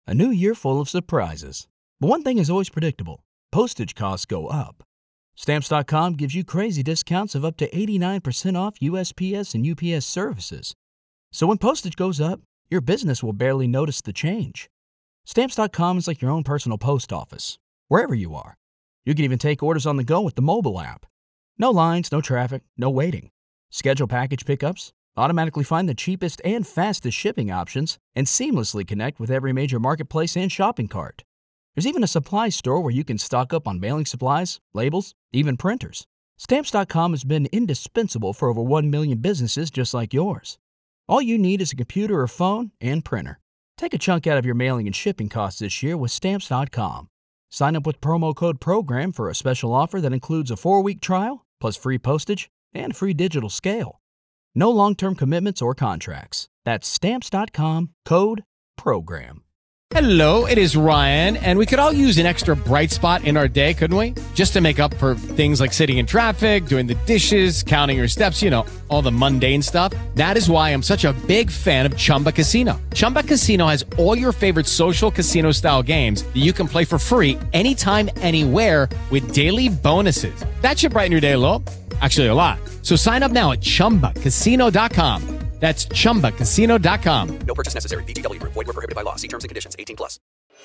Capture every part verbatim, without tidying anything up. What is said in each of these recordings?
A new year full of surprises. But one thing is always predictable. Postage costs go up. Stamps dot com gives you crazy discounts of up to eighty-nine percent off U S P S and U P S services. So when postage goes up, your business will barely notice the change. Stamps dot com is like your own personal post office, wherever you are. You can even take orders on the go with the mobile app. No lines, no traffic, no waiting. Schedule package pickups, automatically find the cheapest and fastest shipping options, and seamlessly connect with every major marketplace and shopping cart. There's even a supply store where you can stock up on mailing supplies, labels, even printers. Stamps dot com has been indispensable for over one million businesses just like yours. All you need is a computer or phone and printer. Take a chunk out of your mailing and shipping costs this year with Stamps dot com. Sign up with promo code PROGRAM for a special offer that includes a four-week trial, plus free postage and free digital scale. No long-term commitments or contracts. That's Stamps dot com, code PROGRAM. Hello, it is Ryan, and we could all use an extra bright spot in our day, couldn't we? Just to make up for things like sitting in traffic, doing the dishes, counting your steps, you know, all the mundane stuff. That is why I'm such a big fan of Chumba Casino. Chumba Casino has all your favorite social casino-style games that you can play for free anytime, anywhere with daily bonuses. That should brighten your day a little. Actually, a lot. So sign up now at chumba casino dot com. That's chumba casino dot com. No purchase necessary. V G W. Void where prohibited by law. See terms and conditions. eighteen plus.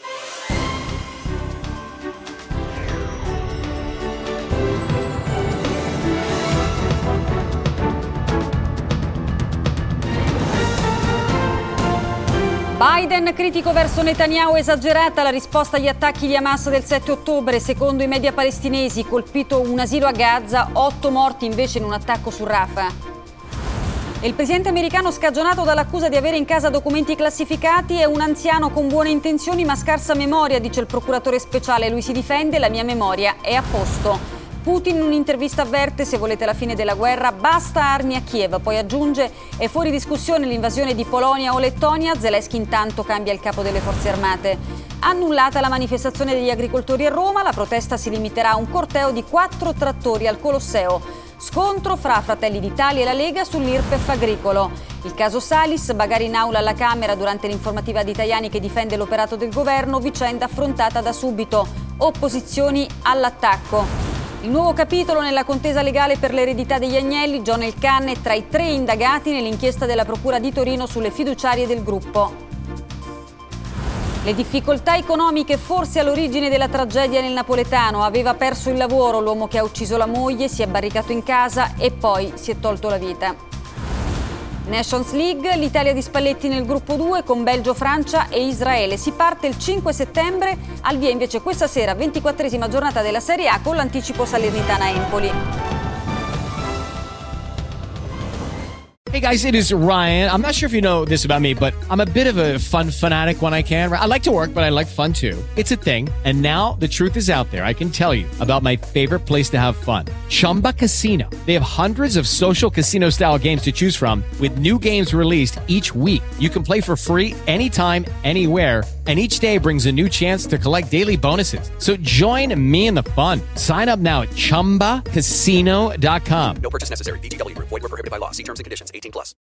Biden critico verso Netanyahu, esagerata la risposta agli attacchi di Hamas del sette ottobre. Secondo i media palestinesi, colpito un asilo a Gaza, otto morti invece in un attacco su Rafah. Il presidente americano, scagionato dall'accusa di avere in casa documenti classificati, è un anziano con buone intenzioni ma scarsa memoria, dice il procuratore speciale. Lui si difende: la mia memoria è a posto. Putin in un'intervista avverte: se volete la fine della guerra basta armi a Kiev. Poi aggiunge: è fuori discussione l'invasione di Polonia o Lettonia. Zelensky intanto cambia il capo delle forze armate. Annullata la manifestazione degli agricoltori a Roma, la protesta si limiterà a un corteo di quattro trattori al Colosseo. Scontro fra Fratelli d'Italia e la Lega sull'I R P E F agricolo. Il caso Salis, bagarre in aula alla Camera durante l'informativa di Tajani che difende l'operato del governo, vicenda affrontata da subito. Opposizioni all'attacco. Il nuovo capitolo nella contesa legale per l'eredità degli Agnelli. John Elkann è tra i tre indagati nell'inchiesta della Procura di Torino sulle fiduciarie del gruppo. Le difficoltà economiche forse all'origine della tragedia nel napoletano. Aveva perso il lavoro l'uomo che ha ucciso la moglie, si è barricato in casa e poi si è tolto la vita. Nations League, l'Italia di Spalletti nel gruppo due con Belgio, Francia e Israele. Si parte il cinque settembre, al via invece questa sera, ventiquattresima giornata della Serie A con l'anticipo Salernitana-Empoli. Hey guys, it is Ryan. I'm not sure if you know this about me, but I'm a bit of a fun fanatic when I can. I like to work, but I like fun too. It's a thing. And now the truth is out there. I can tell you about my favorite place to have fun. Chumba Casino. They have hundreds of social casino style games to choose from with new games released each week. You can play for free anytime, anywhere. And each day brings a new chance to collect daily bonuses. So join me in the fun. Sign up now at chumba casino dot com. No purchase necessary. V G W. Void where prohibited by law. See terms and conditions. eighteen plus.